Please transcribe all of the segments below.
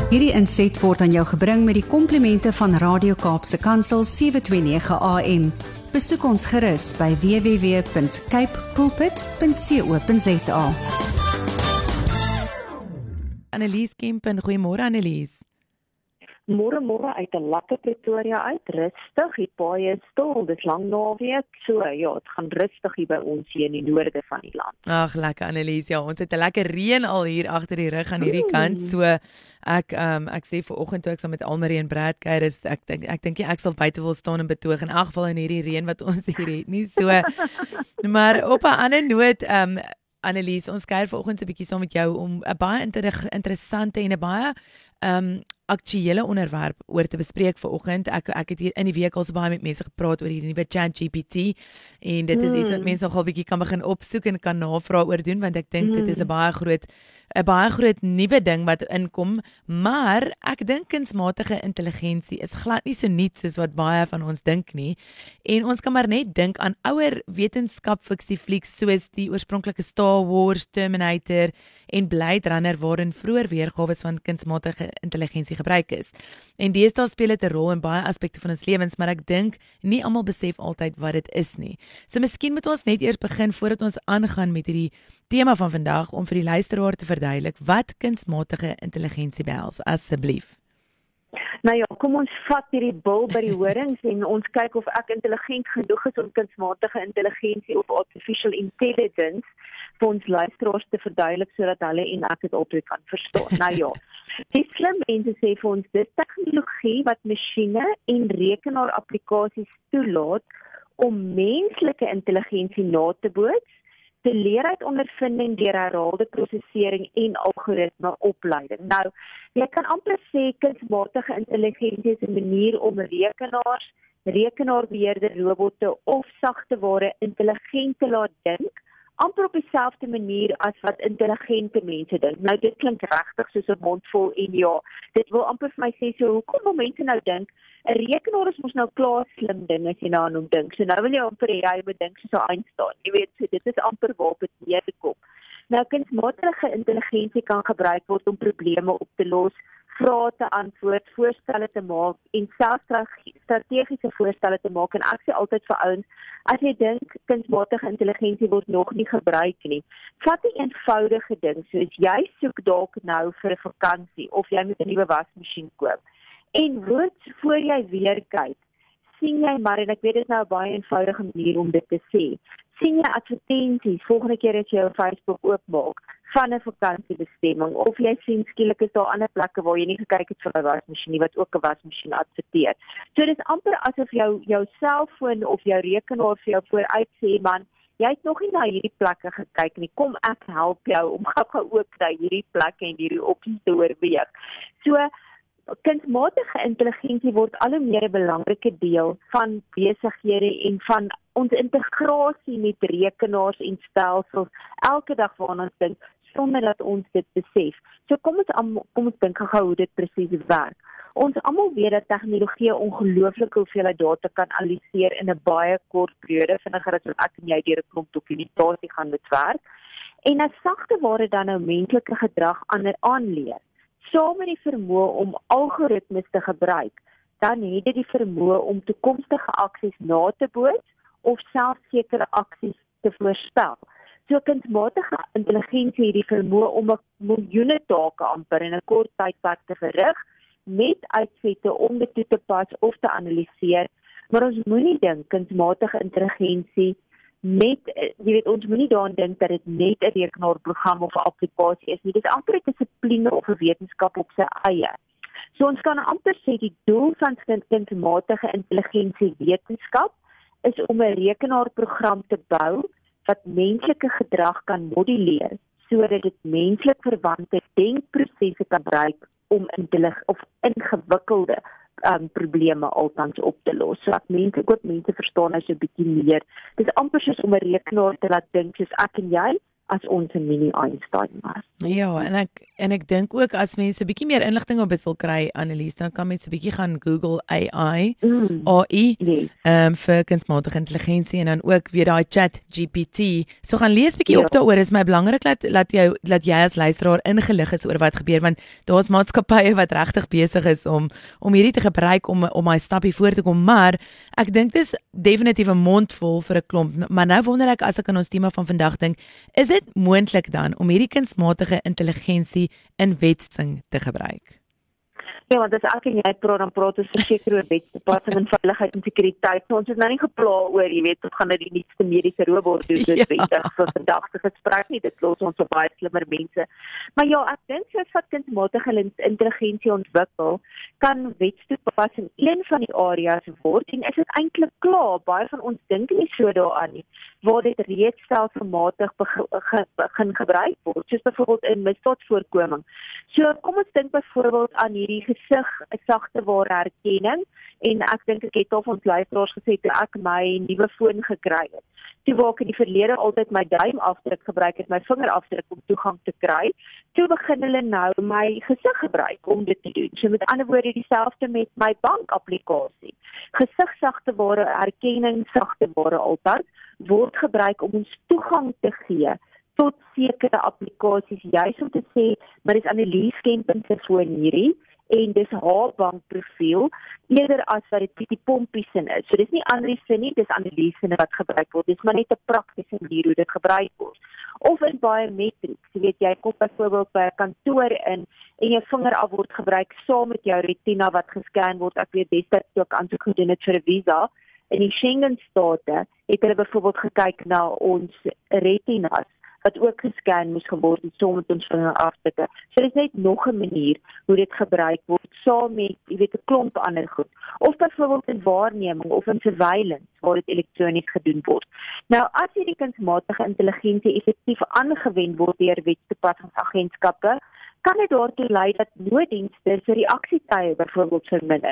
Hierdie inset word aan jou gebring met die komplimente van Radio Kaapse Kansel 729 AM. Besoek ons gerus by www.capepulpit.co.za. Annelies Kempen, goeiemôre Annelies. Môre uit 'n lekker Pretoria uit, rustig, die paaie is stil, dis lang naweek, so ja, dit gaan rustig hier by ons hier in die noorde van die land. Ag, lekker Annelies, ja, ons het 'n lekker reën al hier agter die rug aan hierdie kant, so ek sê vanoggend toe ek saam met Almarie en Brad kuier, ek dink ek sal buite wil staan en betoog in elk geval in hierdie reën wat ons hier het nie, so maar op 'n ander noot, Annelies, ons kuier vanoggend so 'n bietjie saam met jou om 'n baie interessante en 'n baie aktuele onderwerp oor te bespreek vanoggend. Ek het hier in die week al so baie met mense gepraat oor die nuwe ChatGPT en dit is iets wat mense nogal bietjie kan begin opsoek en kan navraag oor doen, want ek dink dit is 'n baie groot nuwe ding wat inkom, maar ek dink kunsmatige intelligensie is glad nie so nuut soos wat baie van ons dink nie. En ons kan maar net dink aan ouer wetenskap-fiksieflieks soos die oorspronklike Star Wars, Terminator en Blade Runner waarin vroeër weergawe van kunsmatige intelligensie gebruik is. En deesdae speel dit 'n rol in baie aspekte van ons lewens, maar ek dink nie almal besef altyd wat dit is nie. So miskien moet ons net eers begin voordat ons aangaan met hierdie tema van vandag om vir die luisteraar te verduidelik wat kunsmatige intelligensie behels, asseblief. Nou ja, kom ons vat hierdie bil by die horings en ons kyk of ek intelligent genoeg is om kunsmatige intelligensie of artificial intelligence vir ons luisteraars te verduidelik sodat hulle en ek dit altyd kan verstaan. Nou ja, die slim mense sê vir ons dis tegnologie wat masjiene en rekenaar-applikasies toelaat om menslike intelligensie na te boots, te leer uit ondervinding deur herhaalde prosesering en algoritme opleiding. Nou, jy kan amper sê kunsmatige intelligensie is 'n manier om rekenaars, rekenaarbeheerde robotte of sagteware intelligent te laat dink, amper op dieselfde manier as wat intelligente mense dink. Nou dit klink regtig soos 'n mondvol en ja, dit wil amper vir my sê so hoekom wil mense nou dink 'n rekenaar is mos nou klaar slim ding as jy daaraan dink. So nou wil jy amper jy moet dink soos 'n Einstein. Jy weet, so dit is amper waar dit neerkom. Nou kunsmatige intelligensie kan gebruik word om probleme op te los, vrae te antwoord, voorstelle te maak en selfs strategiese voorstelle te maak. En ek sê altyd vir ouens, as jy dink kunsmatige intelligensie word nog nie gebruik nie, vat 'n eenvoudige ding soos jy soek dalk nou vir 'n vakansie of jy moet 'n nuwe wasmasjien koop. En voor jy weer kyk, sien jy maar, en ek weet dit is nou 'n baie eenvoudige manier om dit te sê, sien jy advertensies volgende keer as jy jou Facebook oopmaak van 'n vakansiebestemming, of jy sien skielik is daar ander plekke waar jy nie gekyk het vir 'n wasmasjien nie wat ook 'n wasmasjien adverteer. So dit is amper asof jou selfoon of jou rekenaar vir jou vooruit sê, man, jy het nog nie na hierdie plekke gekyk nie, kom ek help jou om gou ook na hierdie plekke en hierdie opsies te oorweeg. So kunsmatige intelligensie word al hoe meer 'n belangrike deel van besighede en van ons integrasie met rekenaars en stelsels elke dag waarna ons dink sonder dat ons dit besef. So kom ons dink gou hoe dit presies werk. Ons almal weet dat tegnologie ongelooflike hoeveelheid data kan analiseer in 'n baie kort periode, vinniger as wat ek en jy deur 'n klomp dokumentasie gaan met werk. En as sagteware dan nou menslike gedrag aanleer, saam met die vermoë om algoritmes te gebruik, dan het dit die vermoë om toekomstige aksies na te boots of selfs sekere aksies te voorspel. So kunsmatige intelligensie het die vermoë om miljoene take amper in 'n kort tydperk te verrig met uitsette om dit toe te pas of te analiseer, maar ons moenie dink kunsmatige intelligensie ons moenie daaraan dink dat dit net 'n rekenaarprogram of 'n applikasie is nie. Dit is amper 'n dissipline of 'n wetenskap op sy eie. So ons kan amper sê die doel van kunsmatige intelligensie wetenskap is om 'n rekenaarprogram te bou wat menslike gedrag kan modelleer sodat dit menslik verwante denkprosesse kan gebruik om ingewikkelde probleme altans op te los. So ek hoop mense verstaan as jy 'n bietjie meer. Dit is amper soos om 'n rekenaar te laat dink soos ek en jy, as ons 'n mini Einstein was. Ja, en ek dink ook as mense 'n bietjie meer inligting op dit wil kry, Annelies, dan kan mense 'n bietjie gaan Google AI, AI, Yes. vir kunsmatige intelligensie en dan ook weer daai Chat GPT. So gaan lees bietjie op daaroor. Is my belangrik dat jy as luisteraar ingelig is oor wat gebeur, want daar's maatskappye wat regtig besig is om hierdie te gebruik om my stappie voor te kom, maar ek dink dis definitief 'n mondvol vir 'n klomp. Maar nou wonder ek, as ek aan ons tema van vandag dink, is dit moontlik dan om hierdie kunsmatige intelligensie in wetsing te gebruik? Ja, want as ek en jy praat, dan praat ons verseker oor wetstoepassing en veiligheid en sekuriteit. So ons is nou nie gepla oor, jy weet, of gaan dit die nuutste mediese robot doen, dit wettig vir vandag te gesprek nie, dit los ons op baie slimmer mense. Maar ja, ek dink soos wat kunsmatige intelligensie ontwikkel, kan wetstoepassing een van die areas word, en is dit eintlik klaar, baie van ons dink nie so daaraan nie, waar dit reeds stelselmatig begin gebruik word, soos byvoorbeeld in misdaadvoorkoming. So kom ons dink byvoorbeeld aan hierdie sagte ware herkenning, en ek dink ek het al van ons luisteraars gesê toe ek my nuwe foon gekry het. Toe waar ek in die verlede altyd my duimafdruk gebruik het, my vingerafdruk om toegang te kry, toe begin hulle nou my gesig gebruik om dit te doen. So met ander woorde dieselfde met my bankapplikasie. Gesigsagte ware herkenning, sagte ware altyd, word gebruik om ons toegang te gee tot sekere applikasies, juist om te sê, maar dis Annelies Kempen se foon hierdie, en dis haar bankprofiel, eerder as wat dit die pompies in is. So dis nie Annelies se nie, dis Annelies se wat gebruik word. Dis maar net 'n praktiese manier hoe dit gebruik word. Of in biometrics, jy weet, jy kom byvoorbeeld by 'n kantoor in, en jou vingeraf word gebruik saam met jou retina wat gescan word. Ek weet destyds toe ek aansoek gedoen het vir 'n visa, in die Schengen-state het hulle byvoorbeeld gekyk na ons retinas, wat ook gescan moes geword het saam met ons vingerafdrukke. So dit is net nog 'n manier hoe dit gebruik word saam met, jy weet, 'n klomp ander goed. Of byvoorbeeld in waarneming of in surveillance waar dit elektronies gedoen word. Nou as hierdie kunsmatige intelligensie effektief aangewend word deur wetstoepassingsagentskappe, kan dit daartoe lei dat nooddienste se reaksietye byvoorbeeld verminder.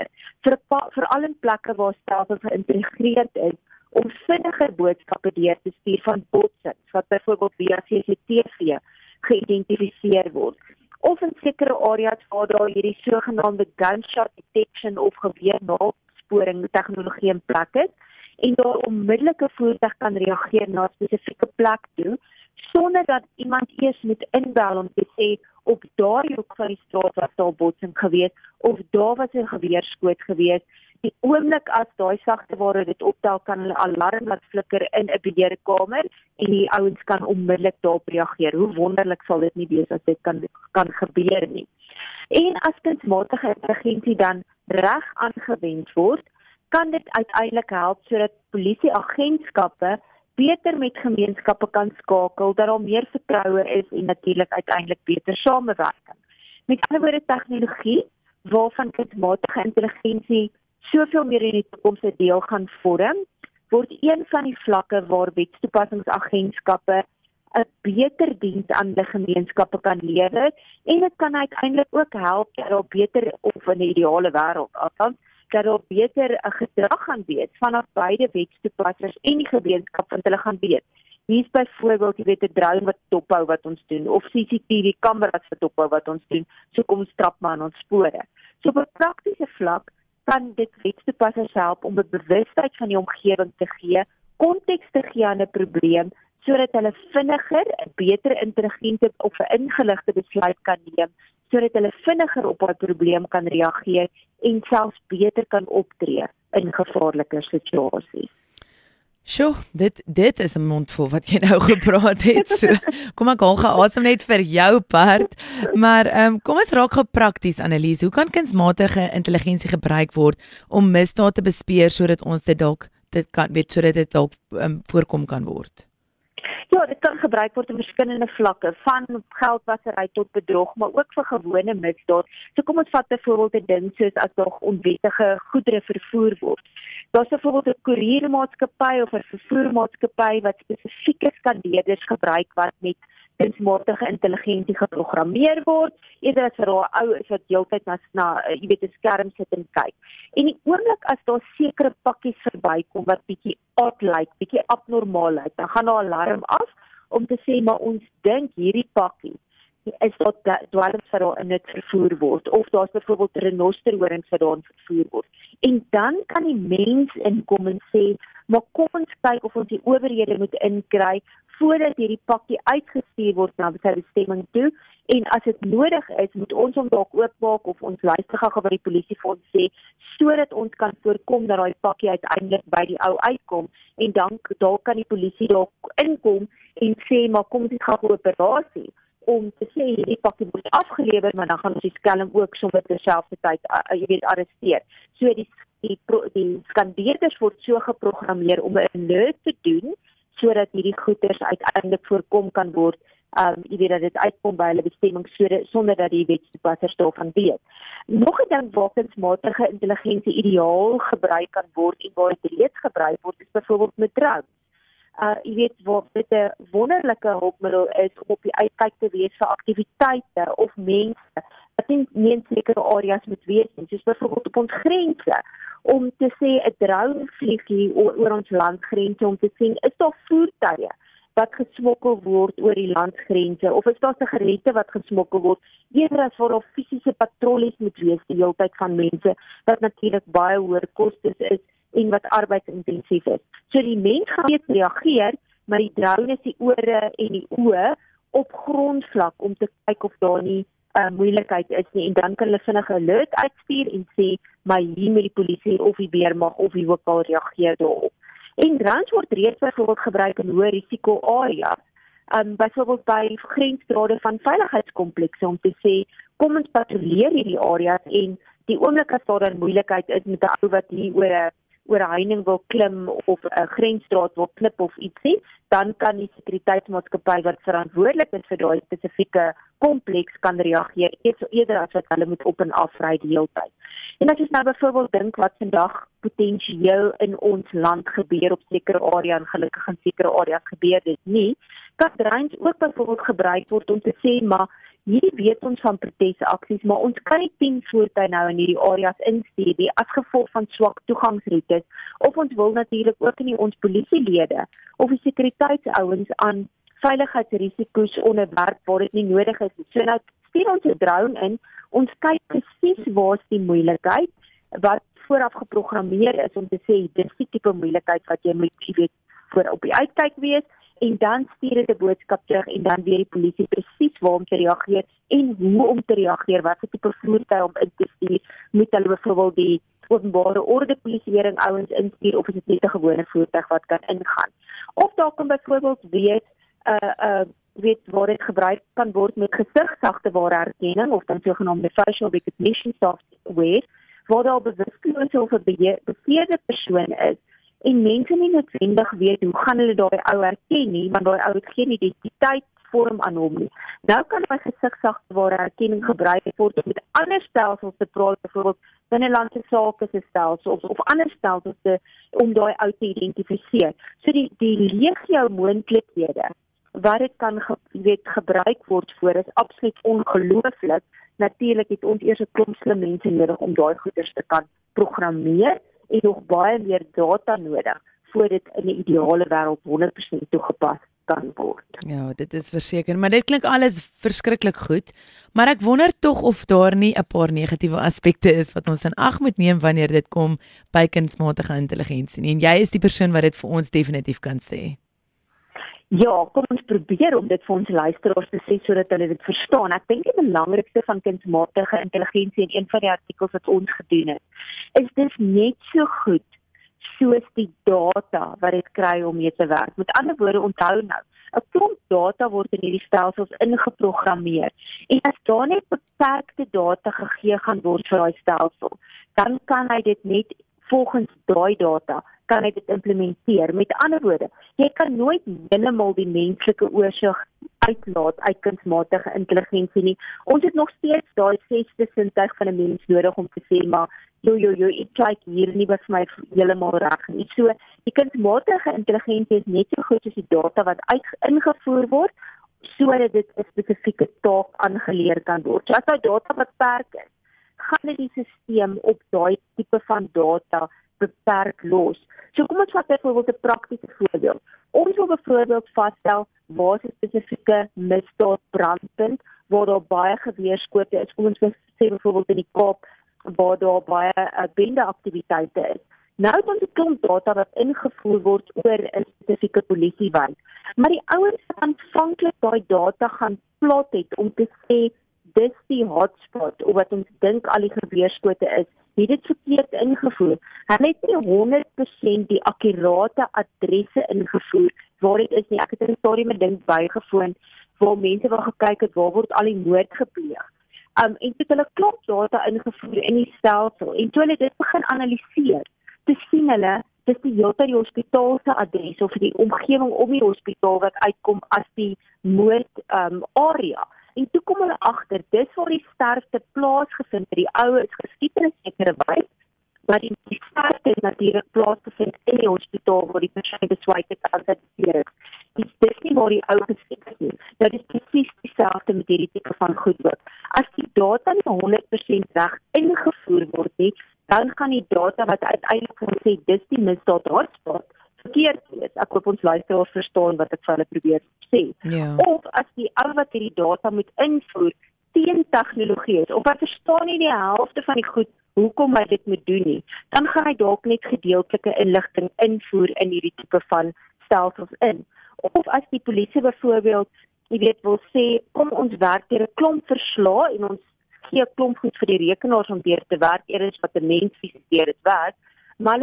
Veral in plekke waar stelsels geïntegreerd is om vinniger boodskappe deur te stuur van botsings wat byvoorbeeld via CCTV geïdentifiseer word. Of in sekere areas waar daar hierdie sogenaamde gunshot detection of geweernaalsporing tegnologie in plek is, en daar onmiddellike voertuig kan reageer na 'n spesifieke plek toe, sonder dat iemand eers moet inbel om te sê, op daardie hoek van die straat was daar botsing gewees, of daar was 'n geweerskoot gewees. Die oomblik as daai sagte ware dit optel, kan hulle alarm laat flikker in 'n beheerkamer, en die ouens kan onmiddellik daarop reageer. Hoe wonderlik sal dit nie wees as dit kan gebeur nie. En as kunsmatige intelligensie dan reg aangewend word, kan dit uiteindelik help sodat polisieagentskappe beter met gemeenskappe kan skakel, dat daar meer vertroue is en natuurlik uiteindelik beter samewerking. Met ander woorde, tegnologie waarvan kunsmatige intelligensie soveel meer in die toekoms 'n deel gaan vorm, word een van die vlakke waar wetstoepassingsagentskappe 'n beter diens aan die gemeenskappe kan lewer, en dit kan uiteindelik ook help dat daar beter, of in 'n ideale wêreld althans, dat daar beter 'n gedrag gaan wees vanaf beide wetstoepassers en die gemeenskap, want hulle gaan weet. Hier is byvoorbeeld, jy weet, 'n drone wat dophou wat ons doen, of CCTV kameras wat dophou wat ons doen, so kom ons trap maar aan ons spore. So op 'n praktiese vlak kan dit wetstoepassers help om 'n bewustheid van die omgewing te gee, konteks te gee aan 'n probleem, sodat hulle vinniger, 'n beter intelligente of 'n ingeligte besluit kan neem, sodat hulle vinniger op 'n probleem kan reageer en selfs beter kan optree in gevaarlike situasies. Sjoe, dit is 'n mondvol wat jy nou gepraat het. So, kom ek haal geasem net vir jou part. Maar kom ons raak gou prakties, Annelies. Hoe kan kunsmatige intelligensie gebruik word om misdaad te bespeer sodat ons dit kan weet, sodat dit dalk voorkom kan word? Ja, dit kan gebruik word op verskillende vlakke, van geldwasery tot bedrog, maar ook vir gewone misdaad. So kom ons vat byvoorbeeld 'n ding soos as daar onwettige goedere vervoer word. Daar's byvoorbeeld 'n koeriermaatskappy of 'n vervoermaatskappy wat spesifieke skandeerders gebruik wat met kunsmatige intelligensie geprogrammeer word, eerder as vir daai ou is wat heeltyd na jy weet 'n skerm sit en kyk. En die oomblik as daar sekere pakkies verbykom wat bietjie odd lyk, bietjie abnormaal lyk, dan gaan daar 'n alarm af om te sê, maar ons dink hierdie pakkie is daar dwelms wat daar in dit vervoer word, of daar's byvoorbeeld renosterhorings wat daarin vervoer word. En dan kan die mens inkom en sê, maar kom ons kyk of ons die owerhede moet inkry, voordat hierdie pakkie uitgestuur word na sy bestemming toe, en as dit nodig is, moet ons hom dalk oopmaak, of ons luister gou by die polisie vir ons sê, sodat ons kan voorkom dat daai pakkie uiteindelik by die ou uitkom, en dan dalk kan die polisie dalk inkom en sê, maar kom dit gaan 'n operasie, om te sê, hierdie pakkie word afgelewer, maar dan gaan ons die skelm ook sommer terselfdertyd, arresteer. So die skandeerders word so geprogrammeer om 'n alert te doen, sodat hierdie goeders uiteindelik voorkom kan word, dat dit uitkom by hulle bestemming, sonder dat die wetstoepassers daarvan weet. Nog 'n ding waar kunsmatige intelligensie ideaal gebruik kan word, en waar dit reeds gebruik word, is byvoorbeeld met drones. Waar dit 'n wonderlike hulpmiddel is om op die uitkyk te wees vir aktiwiteite of mense wat nie in sekere areas moet wees nie, soos byvoorbeeld op ons grense, om te sê 'n drone vlieg hier oor ons landgrense, om te sien, is daar voertuie wat gesmokkel word oor die landsgrense, of is daar sigarette wat gesmokkel word, eerder as waar daar fisiese patrollies moet wees die hele tyd van mense, wat natuurlik baie hoër kostes is, en wat arbeidsintensief is. So die mens gaan weet reageer, maar die drone is die ore en die oë op grondvlak om te kyk of daar nie moeilikheid is nie, en dan kan hulle vinnig 'n alert uitstuur en sê, maar hier met die polisie of die weermag of wie ook al reageer daarop. En drones word reeds byvoorbeeld gebruik in hoë risiko areas, byvoorbeeld by grensdrade van veiligheidskomplekse, om te sê, kom ons patrolleer hierdie areas, en die oomblik as daar dan moeilikheid is met 'n ou wat hier oor 'n heining wil klim, of 'n grensdraad wil klip of ietsie, dan kan die sekuriteitsmaatskappy wat verantwoordelik is vir daai spesifieke kompleks kan reageer, eerder as wat hulle moet op en af ry die hele tyd. En as jy nou byvoorbeeld dink wat vandag potensieel in ons land gebeur op sekere areas, en gelukkig in sekere areas gebeur dit nie, kan drones ook byvoorbeeld gebruik word om te sê, maar hier weet ons van protesaksies, maar ons kan nie 10 voertuie nou in hierdie areas instuur nie, as gevolg van swak toegangsroetes, of ons wil natuurlik ook nie ons polisielede, of die sekuriteitsouens aan veiligheidsrisiko's onderwerp waar dit nie nodig is. So nou stuur ons 'n drone in, ons kyk presies waar is die moeilikheid, wat vooraf geprogrammeer is om te sê, dis die tipe moeilikheid wat jy moet, voor op die uitkyk wees, en dan stuur dit 'n boodskap terug, en dan weer die polisie presies waar om te reageer, en hoe om te reageer, wat vir tipe voertuig om in te stuur, moet hulle byvoorbeeld die openbare orde polisieering ouens instuur, of is dit net 'n gewone voertuig wat kan ingaan. Of daar kan byvoorbeeld waar dit gebruik kan word met gesigsagteware herkenning, of dan sogenaamde facial recognition software, waar daar bewustelose of 'n beseerde persoon is, en mense nie noodwendig weet hoe gaan hulle daai ou herken nie, want daai ou het geen identiteit vorm aan hom nie. Nou kan by gesigsagteware herkenning gebruik word om met ander stelsels te praat, byvoorbeeld binnelandse sake se stelsels of ander stelsels om daai ou te identifiseer. So die legio moontlikhede wat dit kan gebruik word voor is absoluut ongelooflik. Natuurlik het ons eers 'n klomp slim mense nodig om daai goeders te kan programmeer, en nog baie meer data nodig voor dit in 'n ideale wêreld 100% toegepas kan word. Ja, dit is verseker, maar dit klink alles verskriklik goed, maar ek wonder tog of daar nie 'n paar negatiewe aspekte is wat ons in ag moet neem wanneer dit kom by kunsmatige intelligensie nie, en jy is die persoon wat dit vir ons definitief kan sê. Ja, kom ons probeer om dit vir ons luisteraars te sê sodat hulle dit verstaan. Ek dink die belangrikste van kunsmatige intelligensie in een van die artikels wat ons gedoen het, is dis net so goed soos die data wat dit kry om mee te werk. Met ander woorde, onthou nou, 'n klomp data word in hierdie stelsels ingeprogrammeer. En as daar net beperkte data gegee gaan word vir daai stelsel, dan kan hy dit net volgens daai data kan hy dit implementeer. Met ander woorde, jy kan nooit heeltemal die menslike oorsig uitlaat uit kunsmatige intelligensie nie. Ons het nog steeds daai 6de sintuig van 'n mens nodig om te sê, maar ek kyk hier nie wat vir my heeltemal reg nie. So, die kunsmatige intelligensie is net so goed as die data wat ingevoer word, sodat dit 'n spesifieke taak aangeleer kan word. So as daai data beperk is, gaan dit die stelsel op daai tipe van data beperk los, So kom ons vat byvoorbeeld 'n praktiese voorbeeld. Ons wil byvoorbeeld vasstel waar is 'n spesifieke misdaad brandpunt waar daar baie geweerskote is. Kom ons sê byvoorbeeld in die Kaap waar daar baie bendeaktiwiteite is. Nou het ons 'n klomp data wat ingevoer word oor 'n spesifieke polisiewyn. Maar die ouens wat aanvanklik daai data gaan plot het om te sê dis die hotspot of wat ons dink al die geweerskote is, het dit verkeerd ingevoer. Hulle het nie 100% die akkurate adresse ingevoer waar dit is nie. Ek het in 'n stadium 'n ding bygewoon waar mense wou gekyk het waar word al die moord gepleeg. En toe het hulle klop data ingevoer in die stelsel en toe hulle dit begin analiseer, te sien hulle dis die hele tyd die hospitaal se adres of die omgewing om die hospitaal wat uitkom as die moord area. En toe kom hulle agter, dis waar die sterfte plaasgevind het. Die ou is geskiet in 'n sekere wys, maar die sterfte het natuurlik plaasgevind in die hospitaal waar die persoon besluit het as dit is. Dis nie waar die ou geskiet is nie. Nou dis presies dieselfde met hierdie tipe van goed ook. As die data nie 100% reg ingevoer word nie, dan gaan die data wat uiteindelik gaan sê dis die misdaad hotspot verkeerd is. Ek hoop ons luisteraars verstaan wat ek vir hulle probeer sê. Ja. Of as die ou wat hierdie data moet invoer teen tegnologie is, of hy verstaan nie die helfte van die goed hoekom hy dit moet doen nie, dan gaan hy dalk net gedeeltelike inligting invoer in hierdie tipe van stelsels in. Of as die polisie byvoorbeeld, wil sê, kom ons werk deur 'n klomp verslae en ons gee 'n klomp goed vir die rekenaars om deur te werk, eers wat 'n mens fisies deur dit werk, maar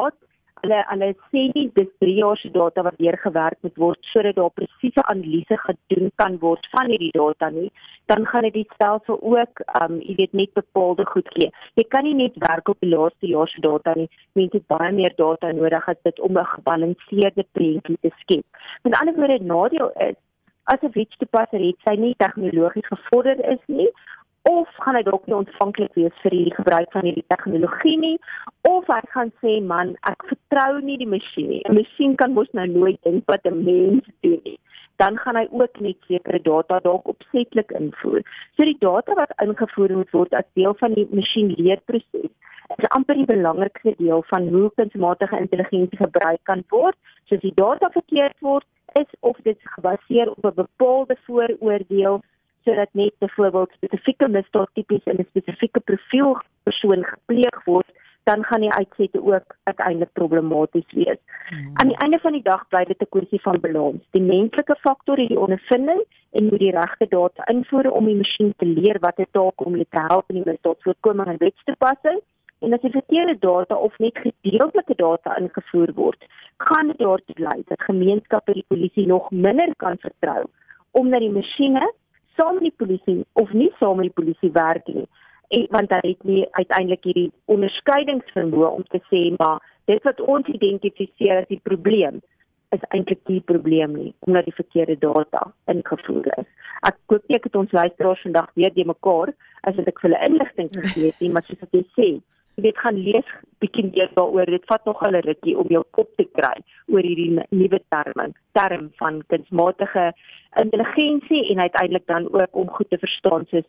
hulle sê nie dis 3 jaar se data wat deur gewerk moet word sodat daar presiese analise gedoen kan word van hierdie data nie, dan gaan dit die stelsel ook net bepaalde goed gee. Jy kan nie net werk op die laaste jaar se data nie, mense het baie meer data nodig as dit om 'n gebalanseerde prentjie te skep. Met ander woorde, nadeel is as 'n wetstoepasser het sy nie tegnologies gevorder is nie, of gaan hy dalk nie ontvanklik wees vir die gebruik van hierdie tegnologie nie, of hy gaan sê, man, ek vertrou nie die masjien nie. 'n Masjien kan mos nou nooit dink wat 'n mens doen nie. Dan gaan hy ook net sekere data dalk opsetlik invoer. So die data wat ingevoer moet word as deel van die masjienleerproses is amper die belangrikste deel van hoe kunsmatige intelligensie gebruik kan word. So as die data verkeerd word, is of dit gebaseer op 'n bepaalde vooroordeel, sodat net byvoorbeeld spesifieke misdaadtipies in 'n spesifieke profiel persoon gepleeg word, dan gaan die uitsette ook uiteindelik problematies wees. Aan die einde van die dag bly dit 'n kwessie van balans. Die menslike faktor, die ondervinding en moet die regte data invoer om die masjien te leer wat 'n taak om dit te help in die misdaadvoorkoming en wetstoepassing. En as die verkeerde data of net gedeeltelike data ingevoer word, gaan dit daartoe lei dat gemeenskappe die polisie nog minder kan vertrou, omdat die masjiene saam met die polisie of nie saam met die polisie werk nie. Want hy het nie uiteindelik hierdie onderskeidingsvermoë om te sê, maar dit wat ons identifiseer as die probleem, is eintlik die probleem nie, omdat die verkeerde data ingevoer is. Ek hoop nie ek het ons luisteraars vandag weer die mekaar, as ek vir hulle inligting gegee het nie, maar soos wat jy sê, jy weet, gaan lees bietjie meer daaroor, dit vat nog 'n rukkie om jou kop te kry oor hierdie nuwe term van kunsmatige intelligensie en uiteindelik dan ook om goed te verstaan soos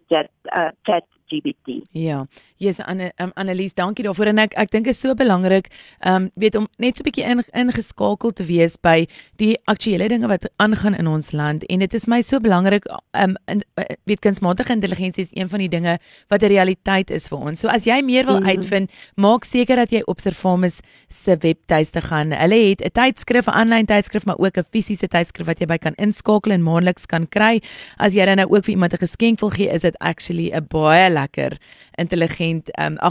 ChatGPT. Ja, yes, Annelies, dankie daarvoor en ek dink is so belangrik, weet om net so 'n bietjie ingeskakel te wees by die aktuelle dinge wat aangaan in ons land en dit is my so belangrik, weet kunsmatige intelligensie is een van die dinge wat 'n realiteit is vir ons. So as jy meer wil uitvind, maak seker dat jy op Servamus se webtuiste gaan. Hulle het 'n tydskrif, 'n aanlyn tydskrif, maar ook 'n fisiese tydskrif wat jy by kan inskakel en maandeliks kan kry. As jy dan nou ook vir iemand 'n geskenk wil gee, is dit actually 'n baie lekker intelligente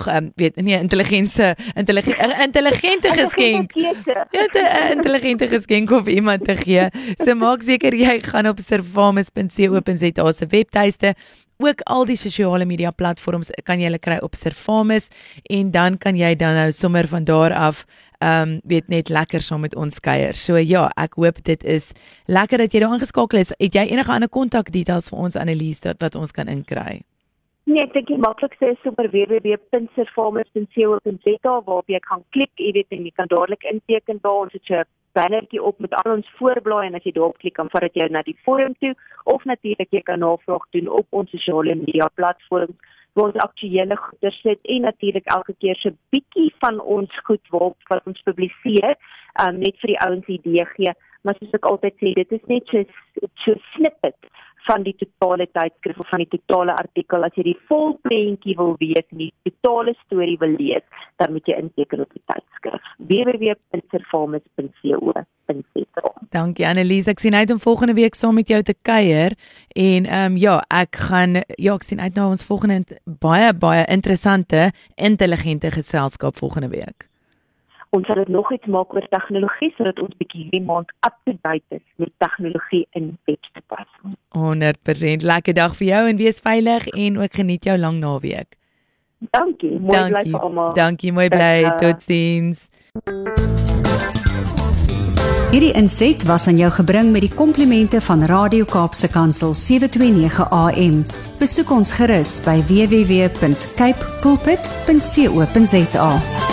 geskenk. 'n intelligente geskenk om iemand te gee. So maak seker jy gaan op servamus.co.za se webtuiste. Ook al die sosiale media platforms kan jy hulle kry op Servamus en dan kan jy dan nou sommer van daar af weet net lekker saam met ons kuier. So ja, ek hoop dit is lekker dat jy daar aangeskakel is. Het jy enige ander kontakdetails vir ons Annelies wat ons kan inkry? Nee, ek dink die maklikste is sommer www.servamus.co.za waarop jy kan klik, jy weet, en jy kan dadelik inteken daar, ons het so 'n bannertjie op met al ons voorblaai en as jy daarop klik, dan vat dit jou na die forum toe, of natuurlik jy kan navraag doen op ons sosiale media platforms, waar ons aktuele goeder sit en natuurlik elke keer so 'n bietjie van ons goed wat ons publiseer, net vir die ouens idee gee, maar soos ek altyd sê, dit is net so snippet van die totale tydskrif of van die totale artikel. As jy die vol prentjie wil weet en die totale storie wil lees, dan moet jy inteken op die tydskrif. www.servamus.co.za. Dankie Annelies, ek sien uit om volgende week saam met jou te kuier en ek sien uit na ons volgende baie interessante, intelligente geselskap volgende week. Ons sal dit nog iets maak oor tegnologie, sodat ons bietjie hierdie maand up-to-date is met tegnologie in webtoepassing. 100%. Lekker dag vir jou en wees veilig en ook geniet jou lang naweek. Dankie, mooi bly vir almal. Dankie, mooi bly. Totsiens. Hierdie inset was aan jou gebring met die komplimente van Radio Kaapse Kansel 729 AM. Besoek ons gerus by www.cape pulpit.co.za.